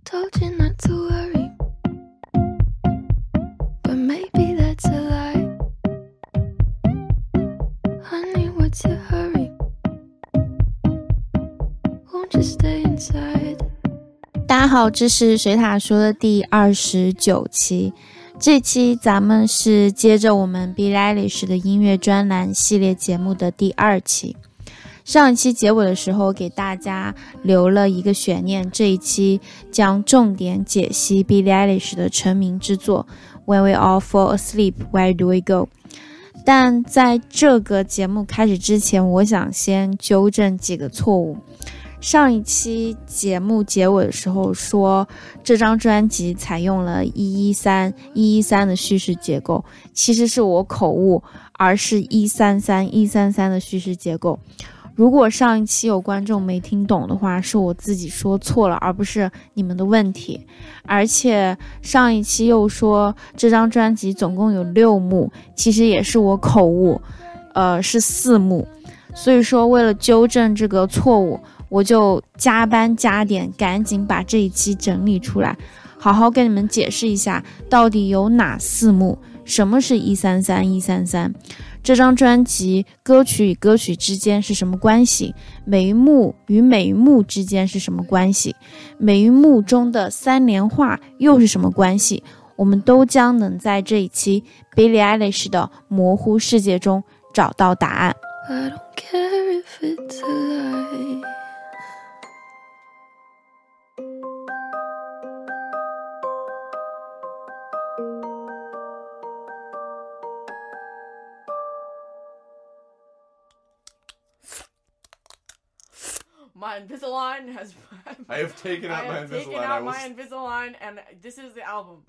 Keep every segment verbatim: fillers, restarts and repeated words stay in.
told you not to worry, but maybe that's a lie. Honey, what's your hurry? Won't you stay inside? 大家好，这是水塔说的第二十九期。这期咱们是接着我们 Billie Eilish 的音乐专栏系列节目的第二期。上一期结尾的时候给大家留了一个悬念，这一期将重点解析 Billie Eilish 的成名之作 When We All Fall Asleep, Where Do We Go。 但在这个节目开始之前，我想先纠正几个错误。上一期节目结尾的时候说这张专辑采用了一一三一一三的叙事结构，其实是我口误，而是一三三一三三的叙事结构。如果上一期有观众没听懂的话，是我自己说错了，而不是你们的问题。而且上一期又说这张专辑总共有六幕，其实也是我口误，呃，是四幕。所以说为了纠正这个错误，我就加班加点，赶紧把这一期整理出来，好好跟你们解释一下到底有哪四幕，什么是一三三一三三，这张专辑歌曲与歌曲之间是什么关系，每一幕与每一幕之间是什么关系，每一幕中的三连画又是什么关系，我们都将能在这一期 Billie Eilish 的模糊世界中找到答案。 I don't care if it's a lie. My Invisalign has... I have taken out I my have Invisalign. taken out I was... my Invisalign, and this is the album.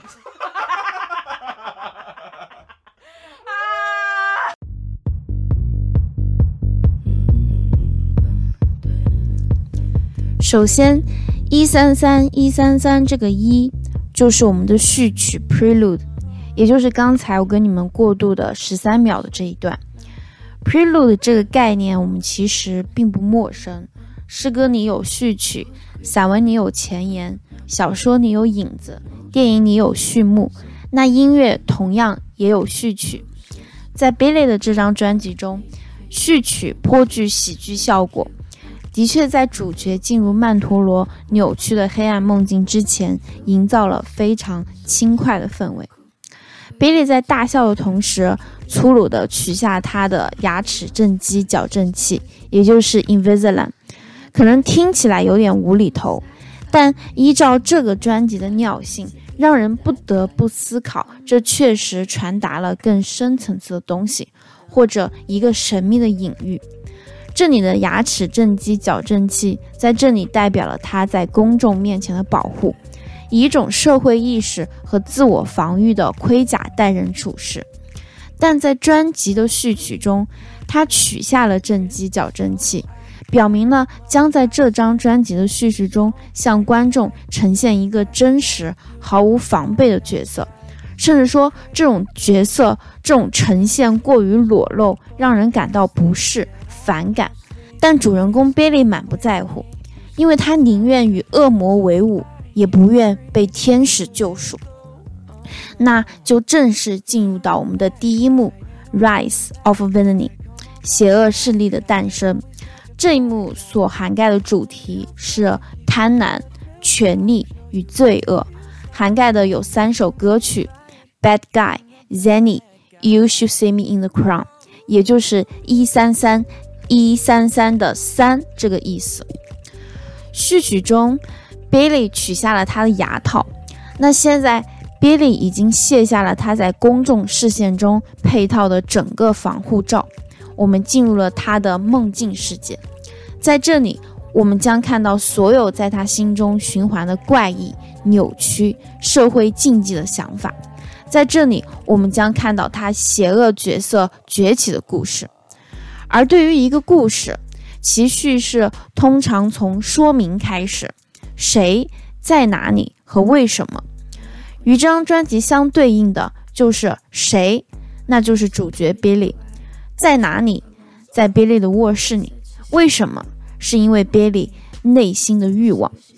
首先一三三一三三这个一就是我们的序曲 Prelude， 也就是刚才我跟你们过渡的十三秒的这一段。 Prelude 这个概念我们其实并不陌生，诗歌里有序曲，散文里有前言，小说里有引子，电影里有序幕，那音乐同样也有序曲。在 Billie 的这张专辑中，序曲颇具喜剧效果，的确在主角进入曼陀罗扭曲的黑暗梦境之前，营造了非常轻快的氛围。Billie 在大笑的同时，粗鲁地取下他的牙齿正畸矫正器，也就是 Invisalign。 可能听起来有点无厘头，但依照这个专辑的尿性，让人不得不思考，这确实传达了更深层次的东西，或者一个神秘的隐喻。这里的牙齿正畸矫正器在这里代表了他在公众面前的保护，以一种社会意识和自我防御的盔甲待人处事。但在专辑的序曲中，他取下了正畸矫正器，表明了将在这张专辑的叙事中向观众呈现一个真实毫无防备的角色，甚至说这种角色这种呈现过于裸露，让人感到不适反感。但主人公 Billie 满不在乎，因为他宁愿与恶魔为伍，也不愿被天使救赎。那就正式进入到我们的第一幕 Rise of Villainy， 邪恶势力的诞生。这一幕所涵盖的主题是贪婪、权力与罪恶，涵盖的有三首歌曲 Bad Guy, Zenny, You Should See Me in the Crown， 也就是一三三一三三的三这个意思。序曲中 Billie 取下了他的牙套，那现在 Billie 已经卸下了他在公众视线中配套的整个防护罩，我们进入了他的梦境世界。在这里我们将看到所有在他心中循环的怪异、扭曲、社会禁忌的想法，在这里我们将看到他邪恶角色崛起的故事。而对于一个故事，其叙事通常从说明开始，谁、在哪里和为什么。与这张专辑相对应的就是谁，那就是主角 Billie。 在哪里？在 Billie 的卧室里。为什么？是因为 Billie 内心的欲望。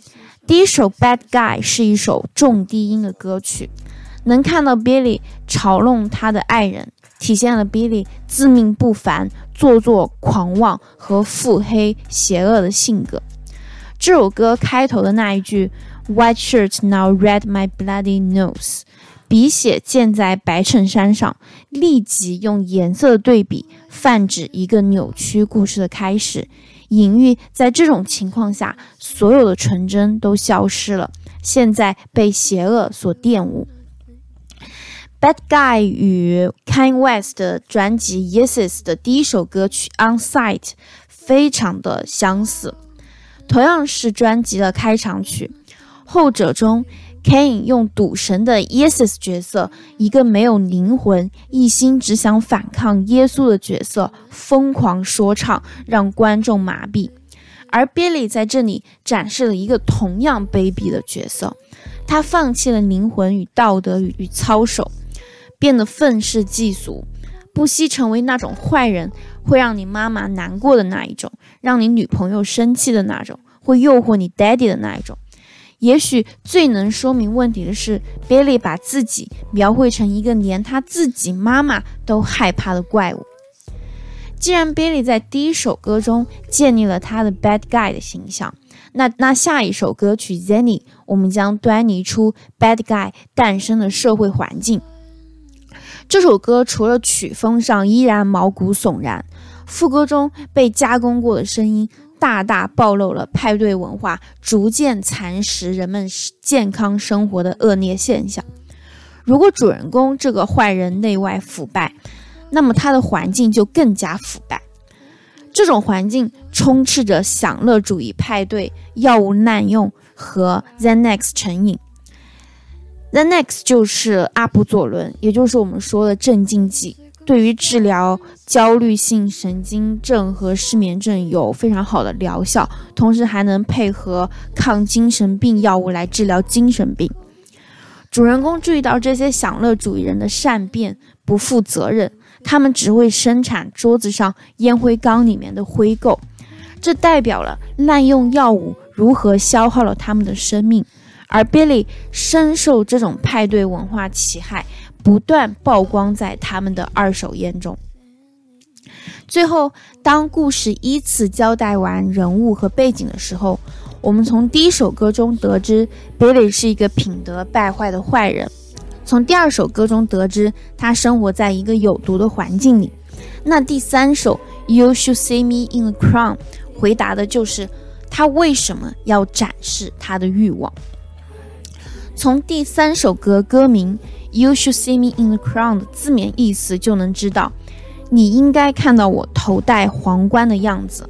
第一首 Bad Guy 是一首重低音的歌曲，能看到 Billy 嘲弄他的爱人，体现了 Billy 自命不凡、做作狂妄和腹黑邪恶的性格。这首歌开头的那一句 White shirt now red my bloody nose， 笔写溅在白衬衫上，立即用颜色的对比泛指一个扭曲故事的开始，隐喻在这种情况下所有的纯真都消失了，现在被邪恶所玷污。Bad Guy 与 Kanye West 的专辑 Yeezus 的第一首歌曲 On Sight 非常的相似，同样是专辑的开场曲。后者中 Kanye 用赌神的 Yeezus 角色，一个没有灵魂、一心只想反抗耶稣的角色疯狂说唱，让观众麻痹。而 Billy 在这里展示了一个同样卑鄙的角色，他放弃了灵魂与道德与操守，变得愤世嫉俗，不惜成为那种坏人，会让你妈妈难过的那一种，让你女朋友生气的那种，会诱惑你 daddy 的那一种。也许最能说明问题的是 Billy 把自己描绘成一个连他自己妈妈都害怕的怪物。既然 Billy 在第一首歌中建立了他的 bad guy 的形象，那那下一首歌曲 Zenny 我们将端倪出 bad guy 诞生的社会环境。这首歌除了曲风上依然毛骨悚然，副歌中被加工过的声音大大暴露了派对文化逐渐蚕食人们健康生活的恶劣现象。如果主人公这个坏人内外腐败，那么他的环境就更加腐败。这种环境充斥着享乐主义派对、药物滥用和 Xanax 成瘾。Xanax 就是阿普佐伦，也就是我们说的镇静剂，对于治疗焦虑性神经症和失眠症有非常好的疗效，同时还能配合抗精神病药物来治疗精神病。主人公注意到这些享乐主义人的善变、不负责任，他们只会生产桌子上烟灰缸里面的灰垢，这代表了滥用药物如何消耗了他们的生命。而 Billy 深受这种派对文化其害，不断曝光在他们的二手烟中。最后，当故事依次交代完人物和背景的时候，我们从第一首歌中得知 Billy 是一个品德败坏的坏人，从第二首歌中得知他生活在一个有毒的环境里。那第三首 You Should See Me in the Crown 回答的就是他为什么要展示他的欲望。从第三首歌歌名 You Should See Me in the Crown 的字面意思就能知道，你应该看到我头戴皇冠的样子。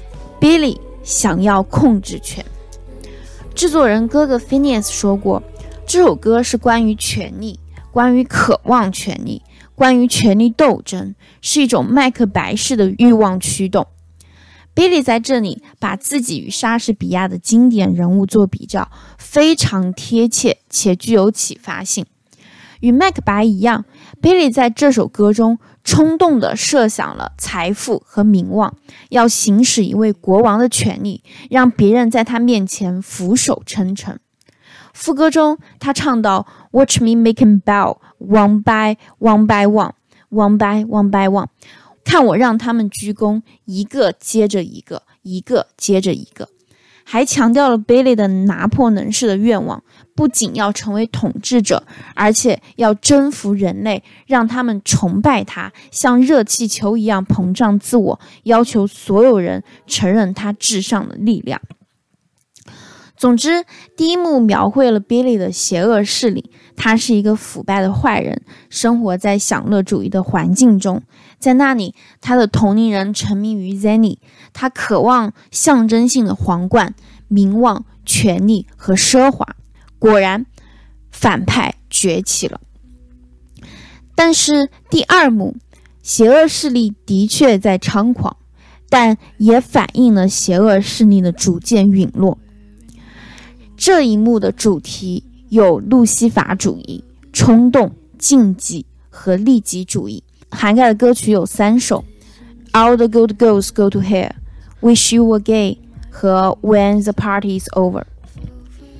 Billy 想要控制权。制作人哥哥 Phineas 说过，这首歌是关于权力，关于渴望权力，关于权力斗争，是一种麦克白式的欲望驱动。Billy 在这里把自己与莎士比亚的经典人物做比较，非常贴切且具有启发性。与麦克白一样， Billy 在这首歌中冲动地设想了财富和名望，要行使一位国王的权利，让别人在他面前俯首称臣。副歌中他唱到 Watch me make him bow one by one by one one by one by one，看我让他们鞠躬，一个接着一个，一个接着一个。还强调了 Billy 的拿破仑式的愿望，不仅要成为统治者，而且要征服人类，让他们崇拜他，像热气球一样膨胀自我，要求所有人承认他至上的力量。总之，第一幕描绘了 Billy 的邪恶势力，他是一个腐败的坏人，生活在享乐主义的环境中。在那里，他的同龄人沉迷于 Zenny， 他渴望象征性的皇冠、名望、权力和奢华。果然，反派崛起了。但是第二幕，邪恶势力的确在猖狂，但也反映了邪恶势力的逐渐陨落。这一幕的主题有路西法主义、冲动、禁忌和利己主义，涵盖的歌曲有三首 All the good girls go to hell, Wish you were gay 和 When the party is over。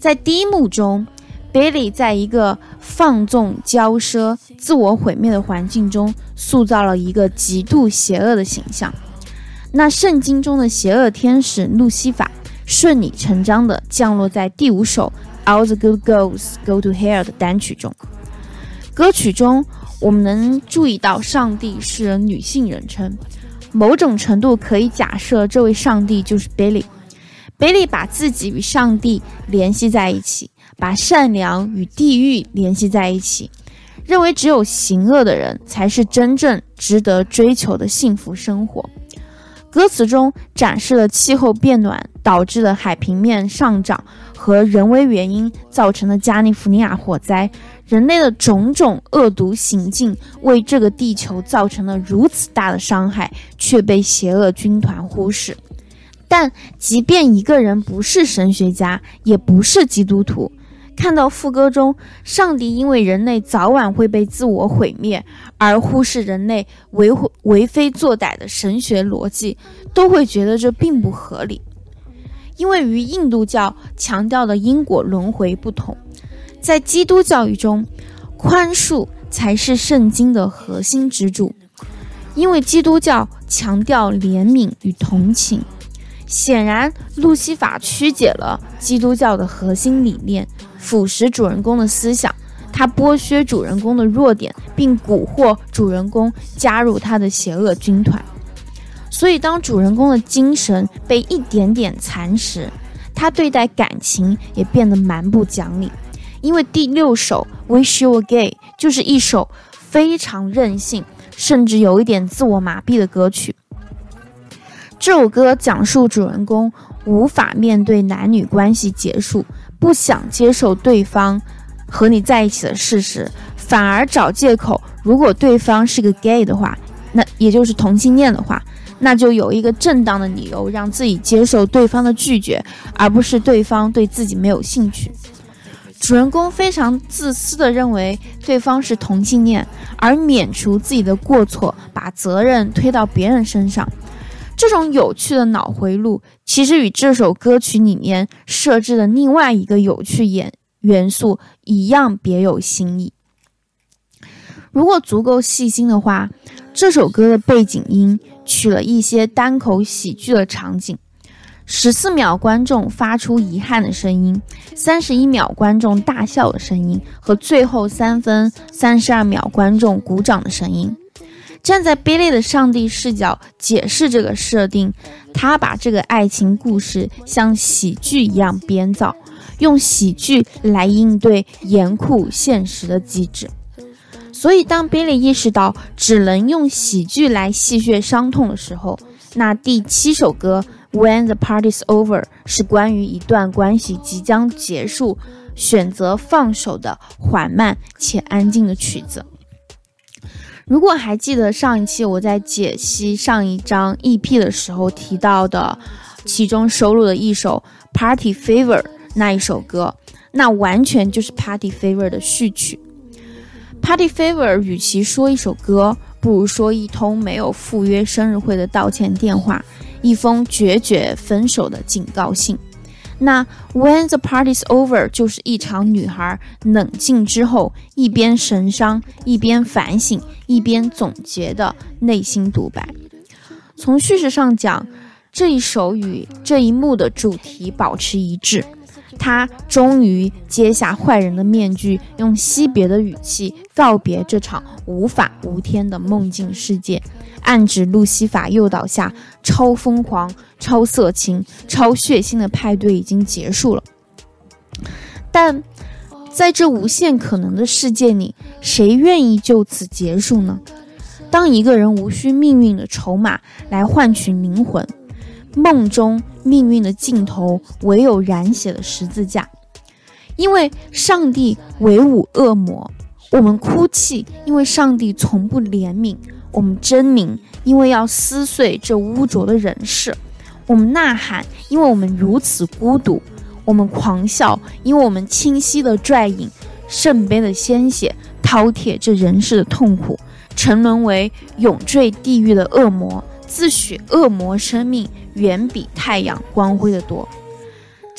在第一幕中， Billy 在一个放纵、骄奢、自我毁灭的环境中塑造了一个极度邪恶的形象。那圣经中的邪恶天使路西法顺理成章地降落在第五首 All the Good Girls Go to Hell 的单曲中。歌曲中我们能注意到上帝是人女性人称，某种程度可以假设这位上帝就是 Billy。 Billy 把自己与上帝联系在一起，把善良与地狱联系在一起，认为只有行恶的人才是真正值得追求的幸福生活。歌词中展示了气候变暖导致的海平面上涨和人为原因造成的加利福尼亚火灾，人类的种种恶毒行径为这个地球造成了如此大的伤害，却被邪恶军团忽视。但即便一个人不是神学家，也不是基督徒，看到副歌中上帝因为人类早晚会被自我毁灭而忽视人类为为非作歹的神学逻辑，都会觉得这并不合理。因为与印度教强调的因果轮回不同，在基督教义中，宽恕才是圣经的核心支柱。因为基督教强调怜悯与同情，显然路西法曲解了基督教的核心理念，腐蚀主人公的思想，他剥削主人公的弱点，并蛊惑主人公加入他的邪恶军团。所以当主人公的精神被一点点蚕食，他对待感情也变得蛮不讲理。因为第六首 Wish You Were Gay 就是一首非常任性，甚至有一点自我麻痹的歌曲。这首歌讲述主人公无法面对男女关系结束，不想接受对方和你在一起的事实，反而找借口，如果对方是个 gay 的话，那也就是同性恋的话，那就有一个正当的理由让自己接受对方的拒绝，而不是对方对自己没有兴趣。主人公非常自私地认为对方是同性恋，而免除自己的过错，把责任推到别人身上。这种有趣的脑回路其实与这首歌曲里面设置的另外一个有趣元素一样别有新意。如果足够细心的话，这首歌的背景音取了一些单口喜剧的场景，十四秒观众发出遗憾的声音，三十一秒观众大笑的声音，和最后三分三十二秒观众鼓掌的声音。站在 Billy 的上帝视角解释这个设定，他把这个爱情故事像喜剧一样编造，用喜剧来应对严酷现实的机制。所以当 Billy 意识到只能用喜剧来戏谑伤痛的时候，那第七首歌 When the Party's Over 是关于一段关系即将结束，选择放手的缓慢且安静的曲子。如果还记得上一期我在解析上一张 E P 的时候提到的其中收录的一首 Party Favor 那一首歌，那完全就是 Party Favor 的序曲。Party Favor 与其说一首歌，不如说一通没有赴约生日会的道歉电话，一封决绝分手的警告信。那 When the Party's Over 就是一场女孩冷静之后，一边神伤，一边反省，一边总结的内心独白。从叙事上讲，这一首与这一幕的主题保持一致，他终于揭下坏人的面具，用惜别的语气告别这场无法无天的梦境世界，暗指路西法诱导下超疯狂、超色情、超血腥的派对已经结束了。但在这无限可能的世界里，谁愿意就此结束呢？当一个人无需命运的筹码来换取灵魂，梦中命运的尽头唯有染血的十字架。因为上帝唯吾恶魔，我们哭泣，因为上帝从不怜悯；我们狰狞，因为要撕碎这污浊的人世；我们呐喊，因为我们如此孤独；我们狂笑，因为我们清晰地拽饮圣杯的鲜血，饕餮这人世的痛苦，沉沦为永坠地狱的恶魔，自诩恶魔生命远比太阳光辉的多。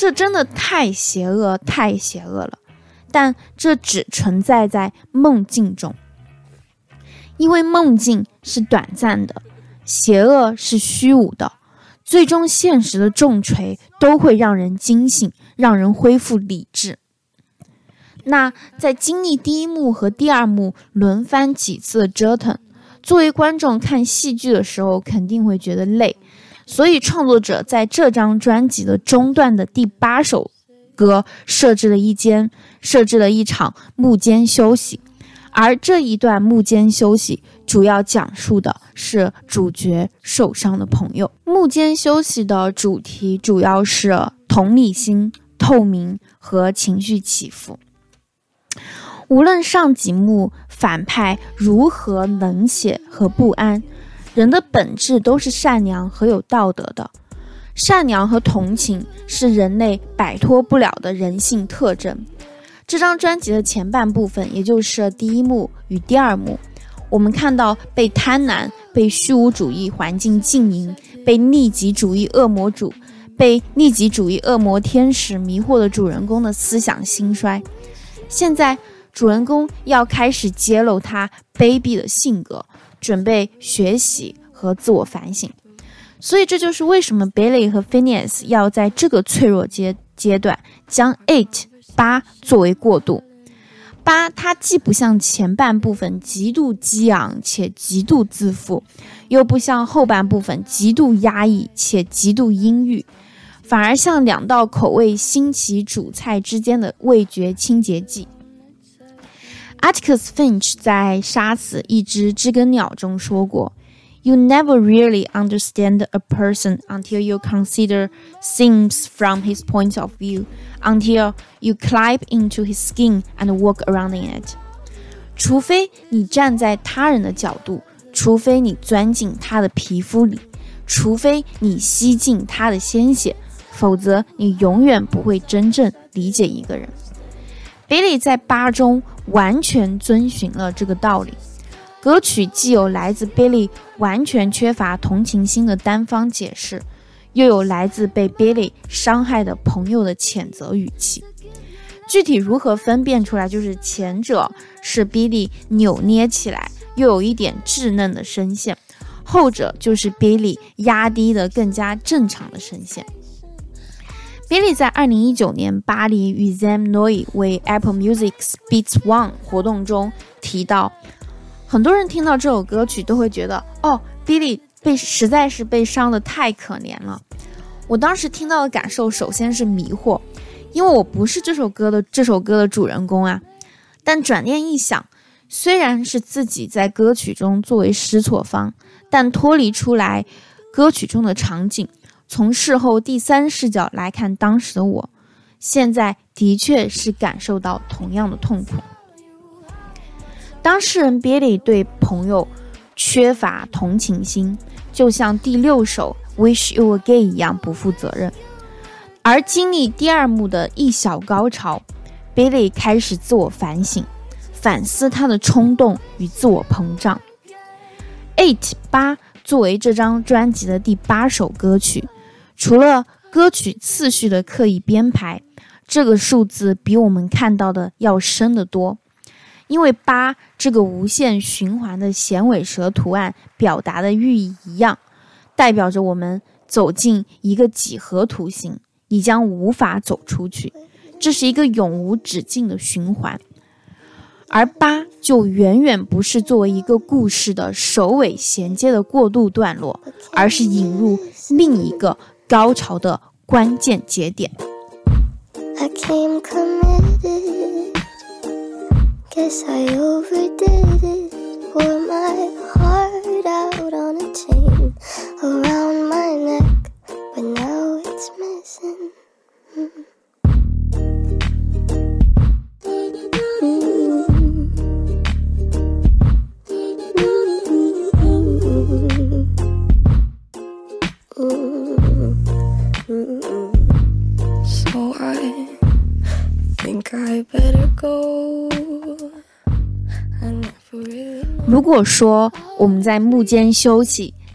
这真的太邪恶太邪恶了，但这只存在在梦境中，因为梦境是短暂的，邪恶是虚无的，最终现实的重锤都会让人惊醒，让人恢复理智。那在经历第一幕和第二幕轮番几次的折腾，作为观众看戏剧的时候肯定会觉得累，所以创作者在这张专辑的中段的第八首歌设置了一间设置了一场幕间休息，而这一段幕间休息主要讲述的是主角受伤的朋友。幕间休息的主题主要是同理心、透明和情绪起伏。无论上几幕反派如何冷血和不安，人的本质都是善良和有道德的。善良和同情是人类摆脱不了的人性特征。这张专辑的前半部分，也就是第一幕与第二幕，我们看到被贪婪、被虚无主义环境浸淫、被利己主义恶魔主、被利己主义恶魔天使迷惑的主人公的思想兴衰。现在主人公要开始揭露他卑鄙的性格，准备学习和自我反省。所以这就是为什么 Billy 和 Phineas 要在这个脆弱阶阶段将 eight 八作为过渡。八它既不像前半部分极度激昂且极度自负，又不像后半部分极度压抑且极度阴郁，反而像两道口味新奇主菜之间的味觉清洁剂。Atticus Finch 在《杀死一只知更鸟》中说过， You never really understand a person until you consider things from his point of view, until you climb into his skin and walk around in it. 除非你站在他人的角度，除非你钻进他的皮肤里，除非你吸进他的鲜血，否则你永远不会真正理解一个人。Billy 在八中完全遵循了这个道理。歌曲既有来自 Billy 完全缺乏同情心的单方解释，又有来自被 Billy 伤害的朋友的谴责语气。具体如何分辨出来，就是前者是 Billy 扭捏起来又有一点稚嫩的声线，后者就是 Billy 压低的更加正常的声线。Billy 在二零一九年巴黎与 Zam Noi 为 Apple Music's Beats One 活动中提到，很多人听到这首歌曲都会觉得，哦 Billy 被实在是被伤得太可怜了。我当时听到的感受首先是迷惑，因为我不是这首歌的这首歌的主人公啊。但转念一想，虽然是自己在歌曲中作为失错方，但脱离出来歌曲中的场景，从事后第三视角来看当时的我，现在的确是感受到同样的痛苦。当事人 Billy 对朋友缺乏同情心，就像第六首 Wish You Were Gay 一样不负责任。而经历第二幕的一小高潮， Billy 开始自我反省，反思他的冲动与自我膨胀。eight 八作为这张专辑的第八首歌曲，除了歌曲次序的刻意编排，这个数字比我们看到的要深得多。因为八这个无限循环的衔尾蛇图案表达的寓意一样，代表着我们走进一个几何图形，你将无法走出去，这是一个永无止境的循环。而八就远远不是作为一个故事的首尾衔接的过渡段落，而是引入另一个高潮的关键节点。 I came committed, guess I overdid it. Wore my heart out on a chain around my neck, but now it's missing. Mm-hmm. So I think I better go. 如果说我们在幕间休息，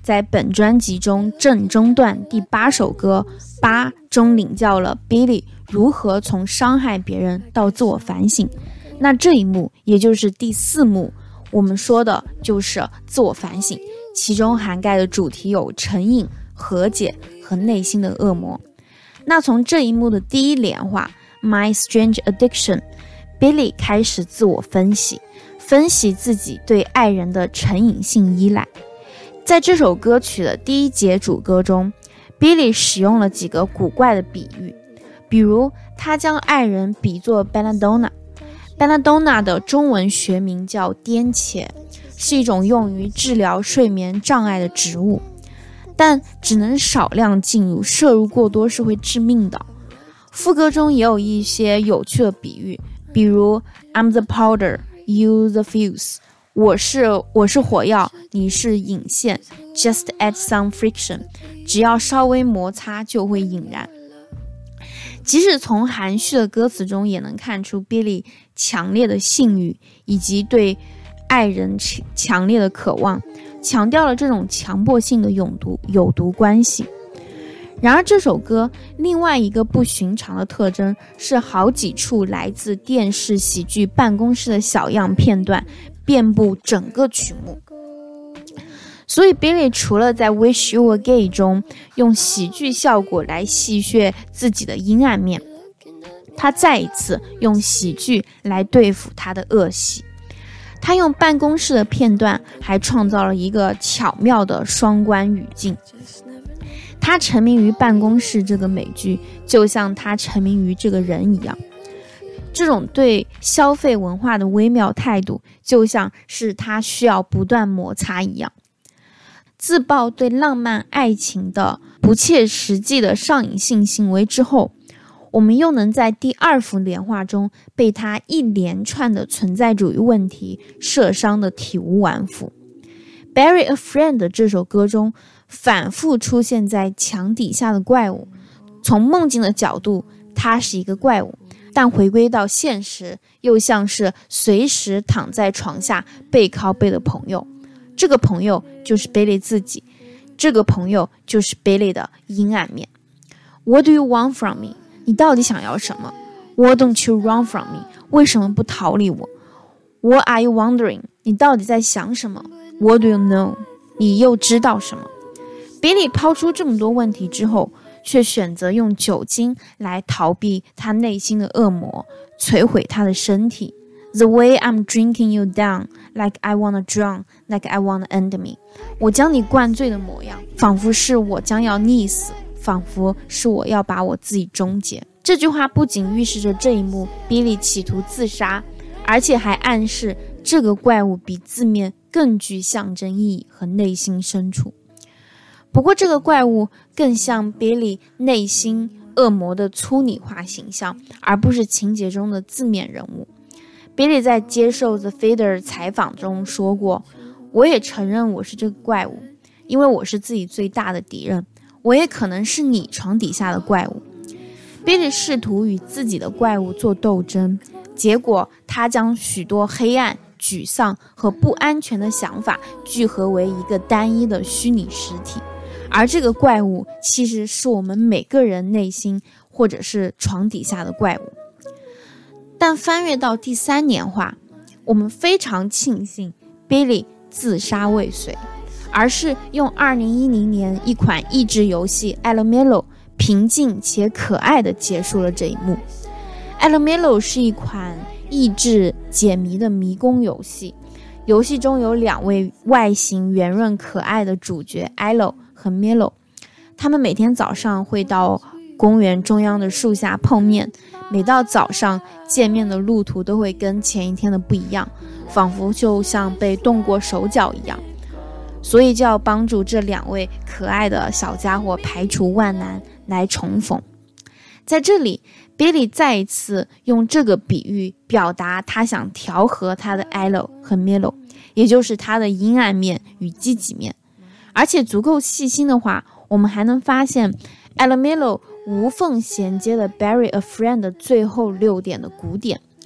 在本专辑中正中段第八首歌八中领教了 Billie 如何从伤害别人到自我反省。那这一幕也就是第四幕，我们说的就是自我反省，其中涵盖的主题有成瘾、和解和内心的恶魔。那从这一幕的第一连话 My Strange Addiction， Billie 开始自我分析，分析自己对爱人的成瘾性依赖。在这首歌曲的第一节主歌中， Billie 使用了几个古怪的比喻，比如他将爱人比作 Belladonna。 Belladonna 的中文学名叫颠茄，是一种用于治疗睡眠障碍的植物，但只能少量进入，摄入过多是会致命的。副歌中也有一些有趣的比喻，比如 I'm the powder, you the fuse， 我是我是火药，你是引线， Just add some friction， 只要稍微摩擦就会引燃。即使从含蓄的歌词中也能看出 Billie 强烈的性欲以及对爱人强烈的渴望，强调了这种强迫性的有毒有毒关系。然而这首歌另外一个不寻常的特征是好几处来自电视喜剧办公室的小样片段遍布整个曲目。所以 Billie 除了在 Wish You Were Gay 中用喜剧效果来戏谑自己的阴暗面，他再一次用喜剧来对付他的恶习。他用办公室的片段还创造了一个巧妙的双关语境。他沉迷于办公室这个美剧，就像他沉迷于这个人一样。这种对消费文化的微妙态度，就像是他需要不断摩擦一样。自曝对浪漫爱情的不切实际的上瘾性行为之后，我们又能在第二幅连画中被他一连串的存在主义问题射伤的体无完肤。 Bury a Friend 这首歌中反复出现在墙底下的怪物，从梦境的角度他是一个怪物，但回归到现实又像是随时躺在床下背靠背的朋友。这个朋友就是 Billie 自己，这个朋友就是 Billie 的阴暗面。 What do you want from me？ 你到底想要什么？ Why don't you run from me？ 为什么不逃离我？ What are you wondering？ 你到底在想什么？ What do you know？ 你又知道什么？ Billie 抛出这么多问题之后，却选择用酒精来逃避他内心的恶魔，摧毁他的身体。The way I'm drinking you down, like I wanna drown, like I wanna end me。 我将你灌醉的模样，仿佛是我将要溺死，仿佛是我要把我自己终结。这句话不仅预示着这一幕 Billie 企图自杀，而且还暗示这个怪物比字面更具象征意义和内心深处。不过这个怪物更像 Billie 内心恶魔的粗拟化形象，而不是情节中的字面人物。Billie 在接受 The Fader 采访中说过，我也承认我是这个怪物，因为我是自己最大的敌人，我也可能是你床底下的怪物。Billie 试图与自己的怪物做斗争，结果他将许多黑暗、沮丧和不安全的想法聚合为一个单一的虚拟实体，而这个怪物其实是我们每个人内心或者是床底下的怪物。但翻阅到第三年话，我们非常庆幸 Billie 自杀未遂，而是用二零一零年一款益智游戏 Elemelo 平静且可爱地结束了这一幕。Elemelo 是一款益智解谜的迷宫游戏，游戏中有两位外形圆润可爱的主角 Elo 和 Melo， 他们每天早上会到公园中央的树下碰面，每到早上见面的路途都会跟前一天的不一样，仿佛就像被动过手脚一样，所以就要帮助这两位可爱的小家伙排除万难来重逢。在这里 Billie 再一次用这个比喻表达他想调和他的 Elo 和 Melo， 也就是他的阴暗面与积极面。而且足够细心的话，我们还能发现 Elemelo 无缝衔接了 Bury a Friend 的最后六点的鼓点。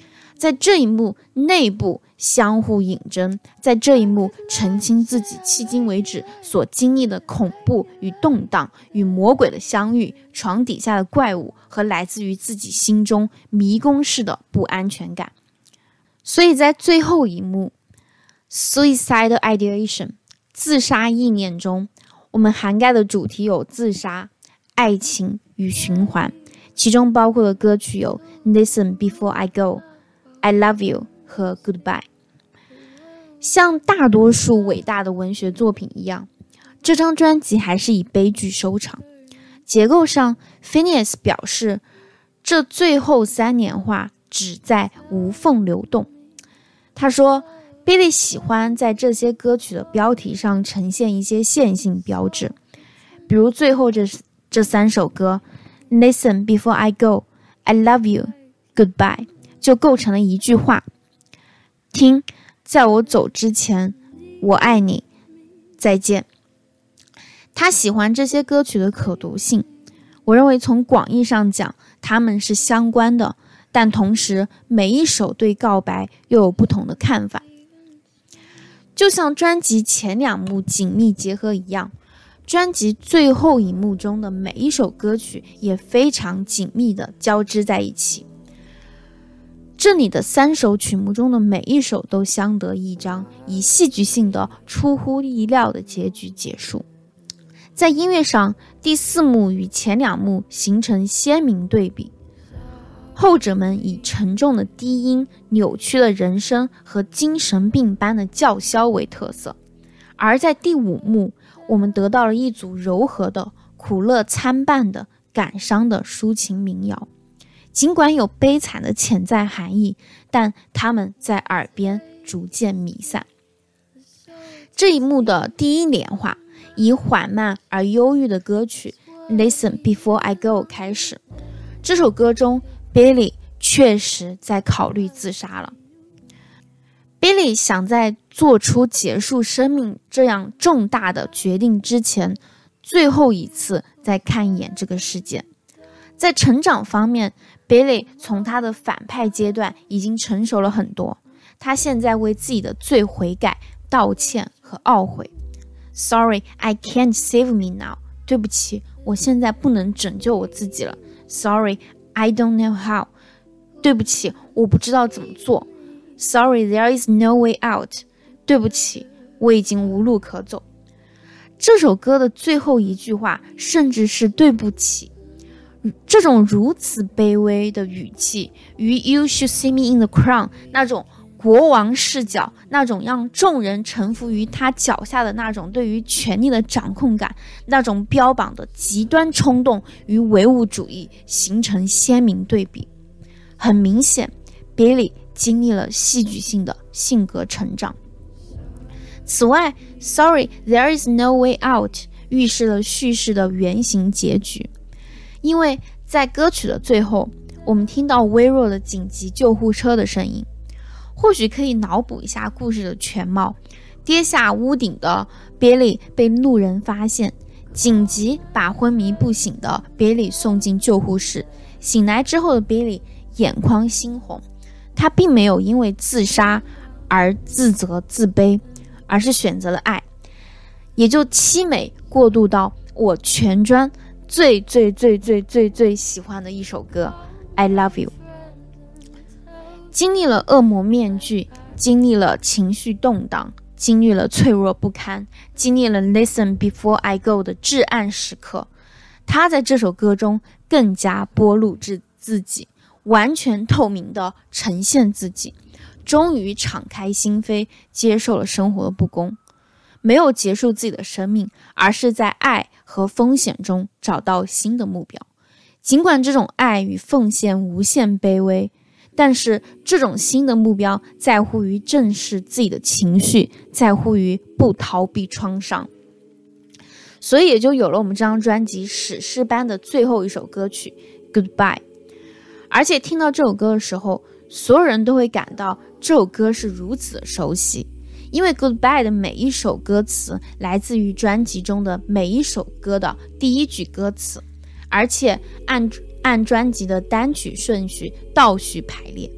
在这一幕内部相互引争，在这一幕澄清自己迄今为止所经历的恐怖与动荡，与魔鬼的相遇，床底下的怪物和来自于自己心中迷宫式的不安全感。所以在最后一幕 Suicidal Ideation 自杀意念中，我们涵盖的主题有自杀、爱情与循环，其中包括的歌曲有 Listen Before I Go、I Love You 和 Goodbye。 像大多数伟大的文学作品一样，这张专辑还是以悲剧收场。结构上 Phineas 表示，这最后三年话只在无缝流动。他说 Billy 喜欢在这些歌曲的标题上呈现一些线性标志，比如最后这这三首歌 Listen Before I Go、I Love You、Goodbye 就构成了一句话，听，在我走之前，我爱你，再见。他喜欢这些歌曲的可读性，我认为从广义上讲它们是相关的，但同时每一首对告白又有不同的看法。就像专辑前两幕紧密结合一样，专辑最后一幕中的每一首歌曲也非常紧密地交织在一起。这里的三首曲目中的每一首都相得益彰，以戏剧性的出乎意料的结局结束。在音乐上，第四幕与前两幕形成鲜明对比，后者们以沉重的低音、扭曲的人声和精神病般的叫嚣为特色，而在第五幕，我们得到了一组柔和的、苦乐参半的、感伤的抒情民谣。尽管有悲惨的潜在含义，但它们在耳边逐渐弥散。这一幕的第一联话以缓慢而忧郁的歌曲 Listen Before I Go 开始。这首歌中 Billy 确实在考虑自杀了。 Billy 想在做出结束生命这样重大的决定之前，最后一次再看一眼这个世界。在成长方面， Billy 从他的反派阶段已经成熟了很多，他现在为自己的罪悔改、道歉和懊悔。 Sorry, I can't save me now 对不起，我现在不能拯救我自己了。 Sorry, I don't know how 对不起，我不知道怎么做。 Sorry, there is no way out 对不起，我已经无路可走。这首歌的最后一句话甚至是对不起，这种如此卑微的语气与 You should see me in the crown 那种国王视角，那种让众人臣服于他脚下的那种对于权力的掌控感，那种标榜的极端冲动与唯物主义形成鲜明对比。很明显 Billy 经历了戏剧性的性格成长。此外 Sorry, there is no way out 预示了叙事的原型结局，因为在歌曲的最后，我们听到微弱的紧急救护车的声音。或许可以脑补一下故事的全貌。跌下屋顶的 Billy 被路人发现，紧急把昏迷不醒的 Billy 送进救护室。醒来之后的 Billy 眼眶猩红，他并没有因为自杀而自责自卑，而是选择了爱，也就凄美过渡到我全专最最最最最最喜欢的一首歌 I Love You。 经历了恶魔面具，经历了情绪动荡，经历了脆弱不堪，经历了 Listen Before I Go 的至暗时刻，他在这首歌中更加剥露自己，完全透明地呈现自己，终于敞开心扉，接受了生活的不公，没有结束自己的生命，而是在爱和风险中找到新的目标。尽管这种爱与奉献无限卑微，但是这种新的目标在乎于正视自己的情绪，在乎于不逃避创伤，所以也就有了我们这张专辑史诗般的最后一首歌曲 Goodbye。 而且听到这首歌的时候，所有人都会感到这首歌是如此的熟悉，因为 Goodbye 的每一首歌词来自于专辑中的每一首歌的第一句歌词，而且按按专辑的单曲顺序倒序排列。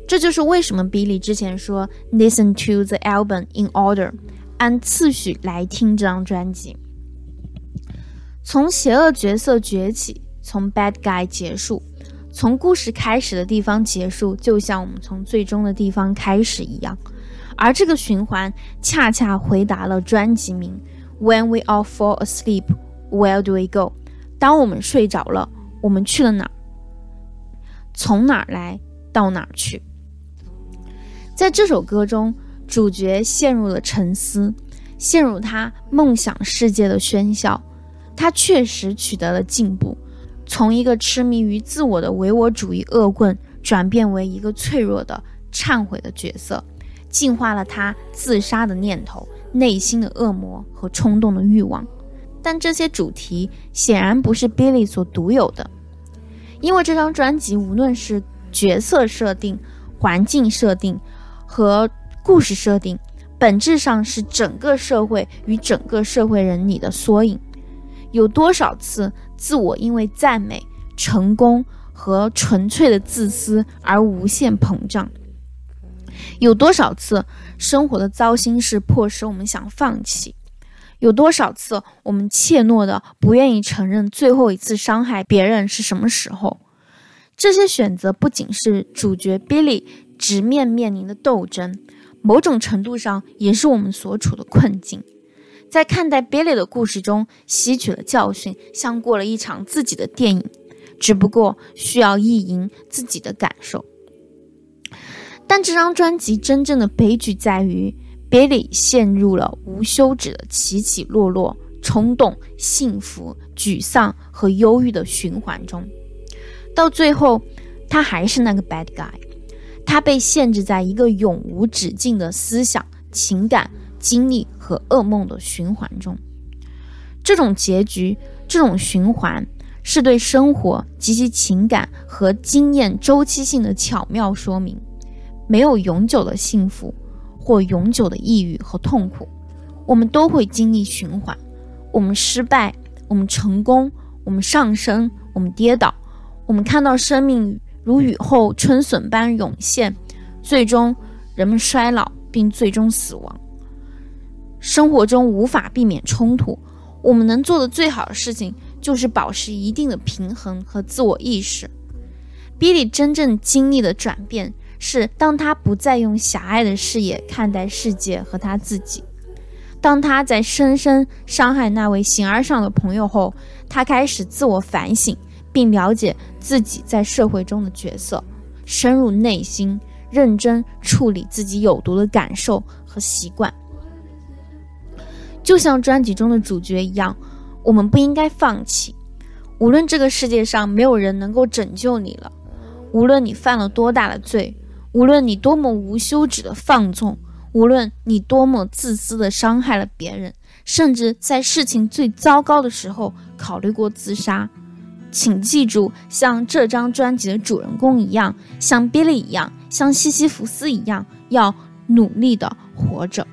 这就是为什么 Billy 之前说 Listen to the album in order， 按次序来听这张专辑。从邪恶角色崛起，从 bad guy 结束，从故事开始的地方结束，就像我们从最终的地方开始一样。而这个循环恰恰回答了专辑名 When we all fall asleep, where do we go？ 当我们睡着了，我们去了哪儿？从哪儿来到哪儿去？在这首歌中，主角陷入了沉思，陷入他梦想世界的喧嚣。他确实取得了进步，从一个痴迷于自我的唯我主义恶棍转变为一个脆弱的忏悔的角色，净化了他自杀的念头、内心的恶魔和冲动的欲望。但这些主题显然不是 Billy 所独有的，因为这张专辑无论是角色设定、环境设定和故事设定，本质上是整个社会与整个社会人里的缩影。有多少次自我因为赞美、成功和纯粹的自私而无限膨胀？有多少次生活的糟心事迫使我们想放弃？有多少次我们怯懦的不愿意承认最后一次伤害别人是什么时候？这些选择不仅是主角 Billy 直面面临的斗争，某种程度上也是我们所处的困境。在看待 Billy 的故事中吸取了教训，像过了一场自己的电影，只不过需要意淫自己的感受。但这张专辑真正的悲剧在于 Billy 陷入了无休止的起起落落、冲动、幸福、沮丧和忧郁的循环中。到最后，他还是那个 bad guy， 他被限制在一个永无止境的思想、情感、经历和噩梦的循环中。这种结局，这种循环，是对生活及其情感和经验周期性的巧妙说明。没有永久的幸福或永久的抑郁和痛苦，我们都会经历循环。我们失败，我们成功，我们上升，我们跌倒，我们看到生命如雨后春笋般涌现，最终人们衰老并最终死亡。生活中无法避免冲突，我们能做的最好的事情就是保持一定的平衡和自我意识。Billy 真正经历的转变是，当他不再用狭隘的视野看待世界和他自己，当他在深深伤害那位形而上的朋友后，他开始自我反省，并了解自己在社会中的角色，深入内心，认真处理自己有毒的感受和习惯。就像专辑中的主角一样，我们不应该放弃。无论这个世界上没有人能够拯救你了，无论你犯了多大的罪，无论你多么无休止的放纵，无论你多么自私的伤害了别人，甚至在事情最糟糕的时候考虑过自杀，请记住，像这张专辑的主人公一样，像 Billy 一样，像西西弗斯一样，要努力的活着。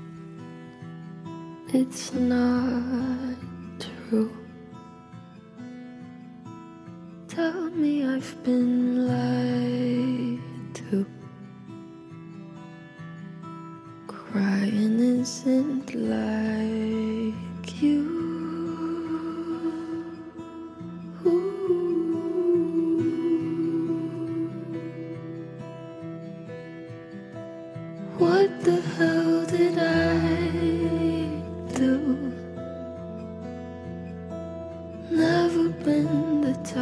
It's not true. Tell me I've been lied to. Crying isn't like you. What the hell did I do? Never been the type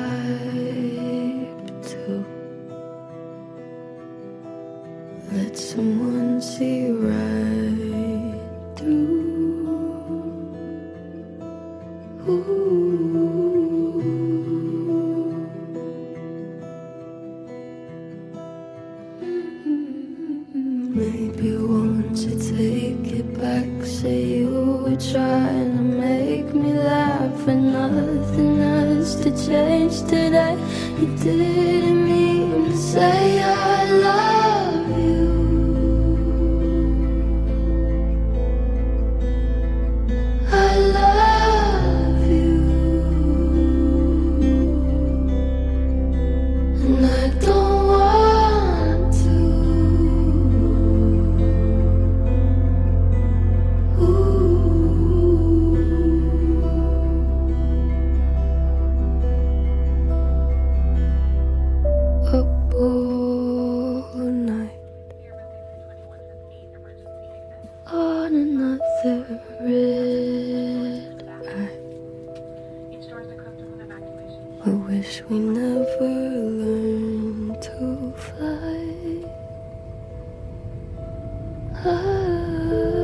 to let someone see right through. Ooh. Maybe won't you take it back? Say you were trying to make me laugh, and nothing has to change today. You didn't mean to say I love you. I love you, and I don't want to I wish we never learned to fly. I,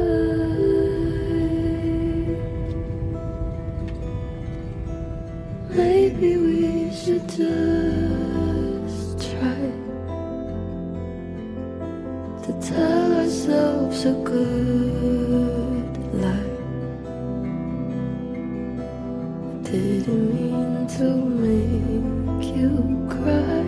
maybe we should just try to tell ourselves a good lie. I didn't mean to make you cry.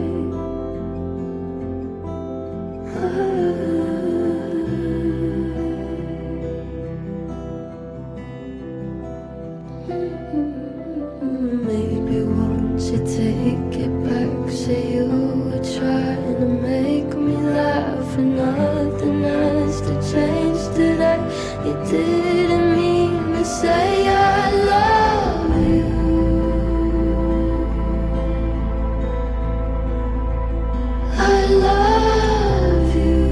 Maybe won't you take it back? Say you were trying to make me laugh, and nothing has to change today. You didn't mean to say I love you. I love you,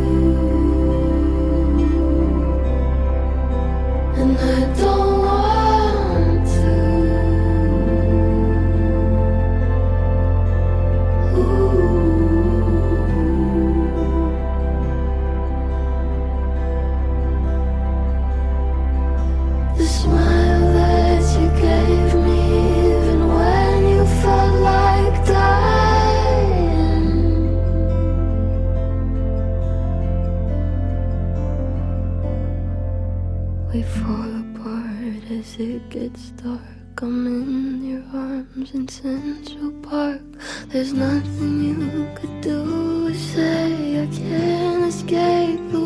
and I don't want to. The smile that you gave me, even when you felt like dying. We fall apart as it gets dark. I'm in your arms in Central Park. There's nothing you could do or say. I can't escape the